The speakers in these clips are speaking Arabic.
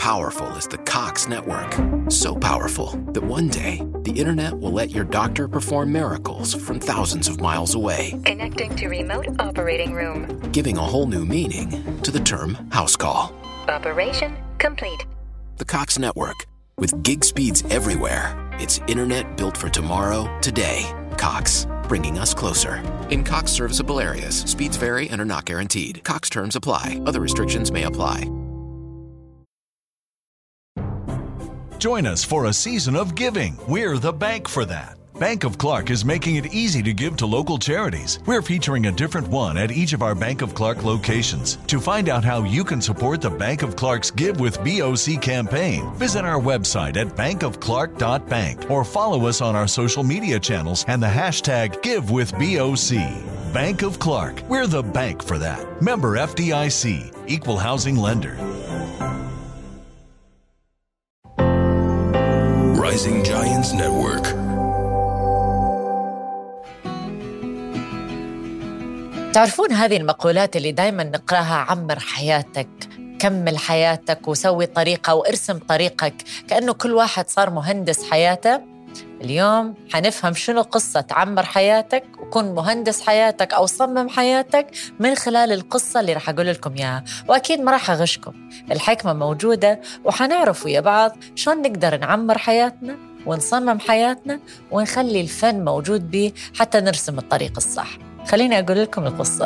powerful is the Cox network. So powerful that one day, the internet will let your doctor perform miracles from thousands of miles away. Connecting to remote operating room. Giving a whole new meaning to the term house call. Operation complete. The Cox network. With gig speeds everywhere. It's internet built for tomorrow, today. Cox, bringing us closer. In Cox serviceable areas, speeds vary and are not guaranteed. Cox terms apply. Other restrictions may apply. Join us for a season of giving. We're the bank for that. Bank of Clark is making it easy to give to local charities. We're featuring a different one at each of our Bank of Clark locations. To find out how you can support the Bank of Clark's Give with BOC campaign, visit our website at bankofclark.bank or follow us on our social media channels and the hashtag GiveWithBOC. Bank of Clark. We're the bank for that. Member FDIC. Equal housing lender. Rising Giants Network. تعرفون هذه المقولات اللي دايما نقراها: عمر حياتك، كمل حياتك، وسوي طريقة وارسم طريقك، كأنه كل واحد صار مهندس حياته. اليوم حنفهم شنو قصة عمر حياتك وكن مهندس حياتك أو صمم حياتك من خلال القصة اللي رح أقول لكم إياها. وأكيد ما رح أغشكم، الحكمة موجودة، وحنعرف ويا بعض شلون نقدر نعمر حياتنا ونصمم حياتنا ونخلي الفن موجود بيه حتى نرسم الطريق الصح. خليني أقول لكم القصة.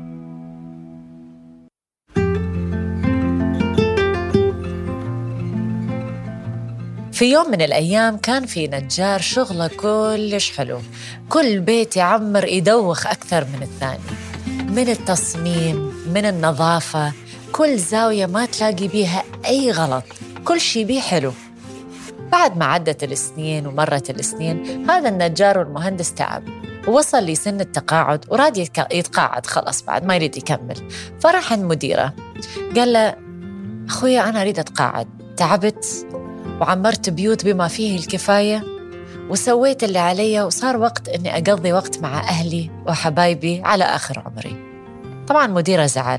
في يوم من الأيام كان في نجار شغله كلش حلو، كل بيت يعمر يدوخ أكثر من الثاني، من التصميم، من النظافة، كل زاوية ما تلاقي بيها أي غلط، كل شي بيه حلو. بعد ما عدت السنين ومرت السنين، هذا النجار والمهندس تعب ووصل لسن التقاعد وراد يتقاعد خلاص، بعد ما يريد يكمل. فراح عند مديره قال له: أخويا أنا أريد أتقاعد، تعبت وعمرت بيوت بما فيه الكفاية وسويت اللي علي، وصار وقت أني أقضي وقت مع أهلي وحبايبي على آخر عمري. طبعا مديره زعل،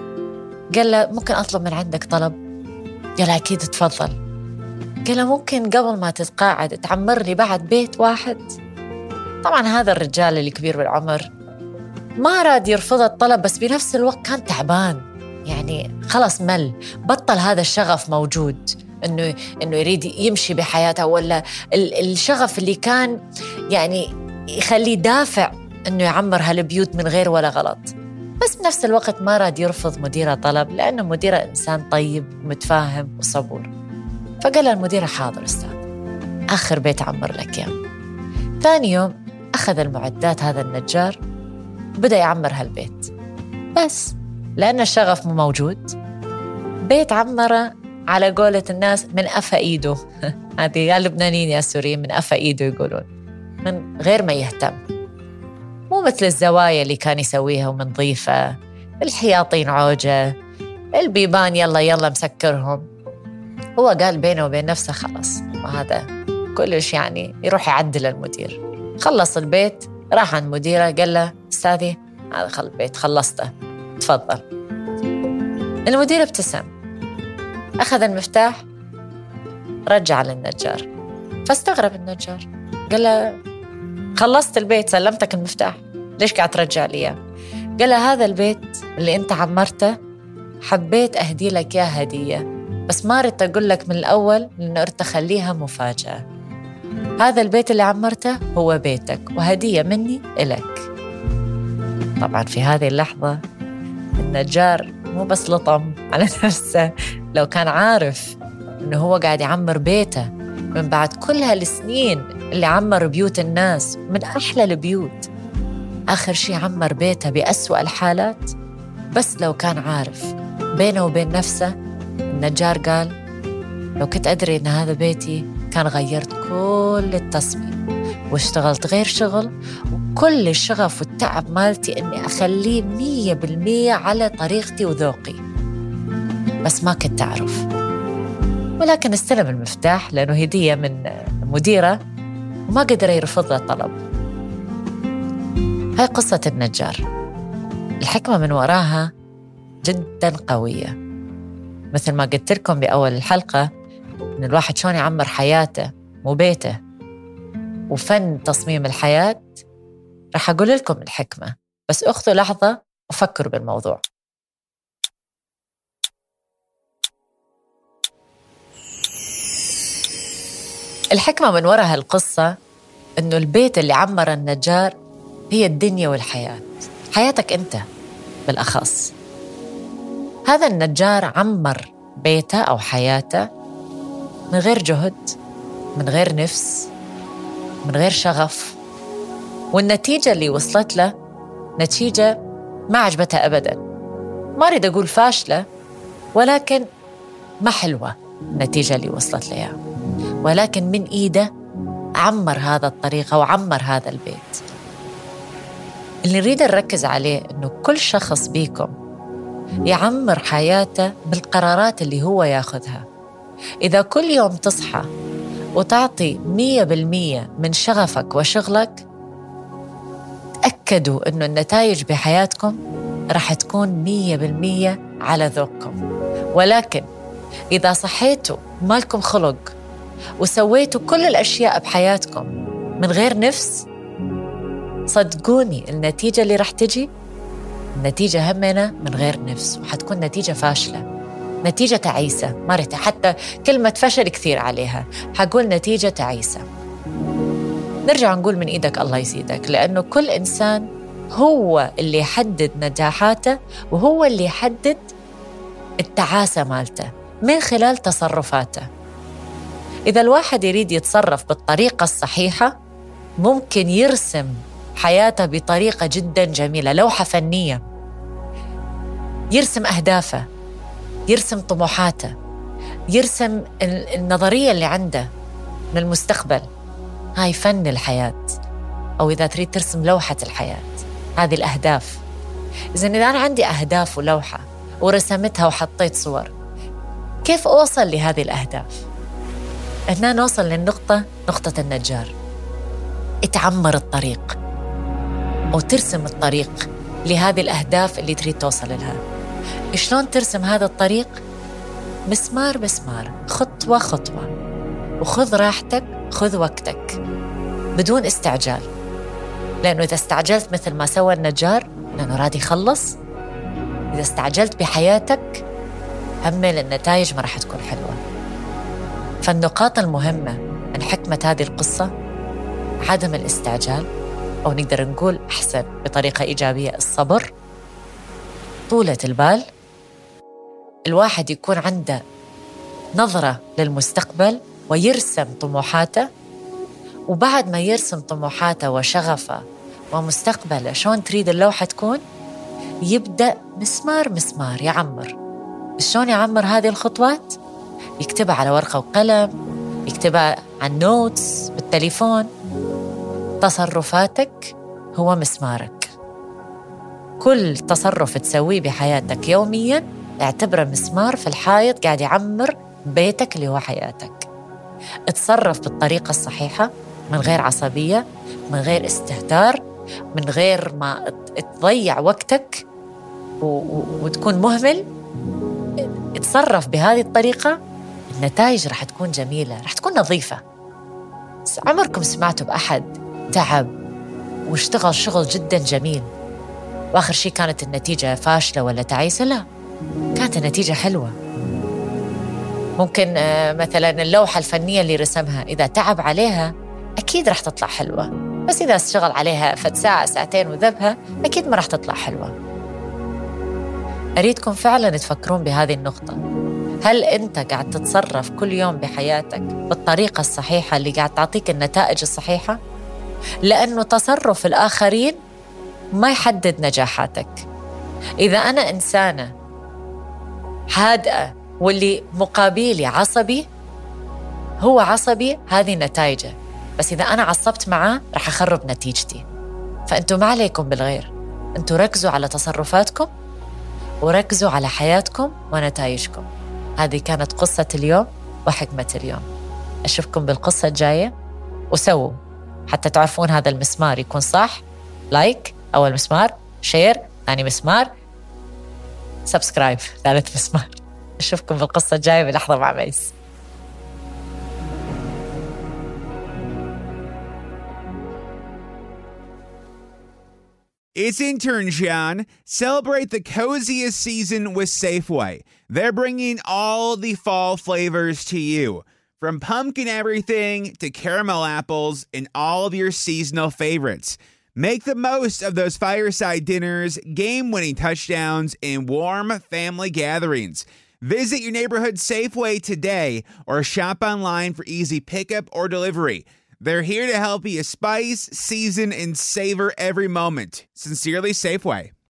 قال له: ممكن أطلب من عندك طلب؟ قال له: أكيد تفضل. قال له: ممكن قبل ما تتقاعد تعمر لي بعد بيت واحد؟ طبعا هذا الرجال الكبير بالعمر ما راد يرفض الطلب، بس بنفس الوقت كان تعبان، يعني خلص مل، بطل هذا الشغف موجود إنه يريد يمشي بحياته، ولا الشغف اللي كان يعني يخليه دافع إنه يعمر هالبيوت من غير ولا غلط. بس بنفس الوقت ما راد يرفض مديره طلب، لأنه مديره إنسان طيب متفاهم وصبور. فقال له المدير: حاضر أستاذ، آخر بيت عمر لك يا. ثاني يوم أخذ المعدات هذا النجار بدأ يعمر هالبيت، بس لأن الشغف مو موجود، بيت عمره على قولة الناس من أفا إيده هذه يا اللبنانيين يا السوريين، من أفا إيده يقولون، من غير ما يهتم، مو مثل الزوايا اللي كان يسويها ومنظيفة، الحياطين عوجة، البيبان يلا مسكرهم. هو قال بينه وبين نفسه خلاص، وهذا كلش يعني يروح يعدل المدير. خلص البيت، راح عند مديره قال له: أستاذي هذا البيت خلصته، تفضل. المدير ابتسم، أخذ المفتاح رجع للنجار. فاستغرب النجار، قال له: خلصت البيت، سلمتك المفتاح، ليش قاعد ترجع لي إياه؟ قال له: هذا البيت اللي أنت عمرته حبيت أهدي لك يا هدية، بس ما ريت أقول لك من الأول لأنه أردت أخليها مفاجأة. هذا البيت اللي عمرته هو بيتك وهدية مني إلك. طبعا في هذه اللحظة النجار مو بس لطم على نفسه، لو كان عارف إنه هو قاعد يعمر بيته من بعد كل هالسنين اللي عمر بيوت الناس من أحلى البيوت، آخر شي عمر بيته بأسوأ الحالات. بس لو كان عارف بينه وبين نفسه، النجار قال: لو كنت أدري إن هذا بيتي كان غيرت كل التصميم واشتغلت غير شغل، وكل الشغف والتعب مالتي إني أخليه 100% على طريقتي وذوقي، بس ما كنت أعرف. ولكن استلم المفتاح لأنه هدية من مديره وما قدر يرفض له طلب. هاي قصة النجار، الحكمة من وراها جدا قوية. مثل ما قلت لكم بأول الحلقة إن الواحد شلون يعمر حياته مو بيته، وفن تصميم الحياة. رح أقول لكم الحكمة، بس أخذوا لحظة وفكروا بالموضوع. الحكمة من وراء هالقصة إنه البيت اللي عمر النجار هي الدنيا والحياة، حياتك أنت بالأخص. هذا النجار عمر بيته أو حياته من غير جهد، من غير نفس، من غير شغف، والنتيجة اللي وصلت له نتيجة ما عجبتها أبداً. ما أريد أقول فاشلة، ولكن ما حلوة النتيجة اللي وصلت لها، ولكن من إيده عمر هذا الطريقة وعمر هذا البيت. اللي نريد نركز عليه إنه كل شخص بيكم يعمر حياته بالقرارات اللي هو ياخذها. إذا كل يوم تصحى وتعطي 100% من شغفك وشغلك، تأكدوا إنه النتائج بحياتكم راح تكون 100% على ذوقكم. ولكن إذا صحيتوا مالكم خلق وسويتوا كل الأشياء بحياتكم من غير نفس، صدقوني النتيجة اللي راح تجي النتيجة همنا من غير نفس، وحتكون نتيجة فاشلة، نتيجة تعيسة. ما ريت حتى كلمة فشل كثير عليها، حقول نتيجة تعيسة. نرجع نقول من إيدك الله يزيدك، لأنه كل إنسان هو اللي يحدد نجاحاته، وهو اللي يحدد التعاسة مالته من خلال تصرفاته. إذا الواحد يريد يتصرف بالطريقة الصحيحة، ممكن يرسم حياته بطريقة جدا جميلة، لوحة فنية، يرسم أهدافه، يرسم طموحاته، يرسم النظرية اللي عنده من المستقبل. هاي فن الحياة، أو إذا تريد ترسم لوحة الحياة، هذه الأهداف. إذن إذا أنا عندي أهداف ولوحة ورسمتها وحطيت صور، كيف أوصل لهذه الأهداف؟ هنا نوصل للنقطة، نقطة النجار. اتعمر الطريق أو ترسم الطريق لهذه الأهداف اللي تريد توصل لها. شلون ترسم هذا الطريق؟ مسمار مسمار، خطوة خطوة، وخذ راحتك، خذ وقتك بدون استعجال. لأنه إذا استعجلت مثل ما سوى النجار لأنه راد يخلص، إذا استعجلت بحياتك همل النتائج ما راح تكون حلوة. فالنقاط المهمة من حكمة هذه القصة عدم الاستعجال، أو نقدر نقول أحسن بطريقة إيجابية الصبر، طولة البال، الواحد يكون عنده نظرة للمستقبل ويرسم طموحاته، وبعد ما يرسم طموحاته وشغفه ومستقبله شلون تريد اللوحة تكون، يبدأ مسمار مسمار يعمر. شلون يعمر هذه الخطوات؟ يكتبها على ورقة وقلم، يكتبها على النوتس بالتليفون. تصرفاتك هو مسمارك، كل تصرف تسويه بحياتك يومياً اعتبره مسمار في الحائط قاعد يعمر بيتك اللي هو حياتك. اتصرف بالطريقة الصحيحة، من غير عصبية، من غير استهتار، من غير ما تضيع وقتك وتكون مهمل. اتصرف بهذه الطريقة، النتائج رح تكون جميلة، رح تكون نظيفة. عمركم سمعتوا بأحد تعب واشتغل شغل جدا جميل وآخر شيء كانت النتيجة فاشلة ولا تعيسة؟ لا، كانت النتيجة حلوة. ممكن مثلا اللوحة الفنية اللي رسمها إذا تعب عليها أكيد رح تطلع حلوة، بس إذا اشتغل عليها فد ساعة ساعتين وذبها أكيد ما رح تطلع حلوة. أريدكم فعلا تفكرون بهذه النقطة. هل أنت قاعد تتصرف كل يوم بحياتك بالطريقة الصحيحة اللي قاعد تعطيك النتائج الصحيحة؟ لأنه تصرف الآخرين ما يحدد نجاحاتك. إذا أنا إنسانة هادئة واللي مقابلي عصبي، هو عصبي، هذه نتائجه. بس إذا أنا عصبت معاه رح أخرب نتيجتي. فأنتوا ما عليكم بالغير، أنتوا ركزوا على تصرفاتكم وركزوا على حياتكم ونتائجكم. هذه كانت قصة اليوم وحكمة اليوم. أشوفكم بالقصة الجاية، وسووا حتى تعرفون هذا المسمار يكون صح. لايك أول مسمار، شير ثاني مسمار، سبسكرايب ثالث مسمار. أشوفكم بالقصة الجاية بلحظة مع ميس. It's intern John. Celebrate the coziest season with Safeway. They're bringing all the fall flavors to you. From pumpkin everything to caramel apples and all of your seasonal favorites. Make the most of those fireside dinners, game-winning touchdowns, and warm family gatherings. Visit your neighborhood Safeway today or shop online for easy pickup or delivery. They're here to help you spice, season, and savor every moment. Sincerely, Safeway.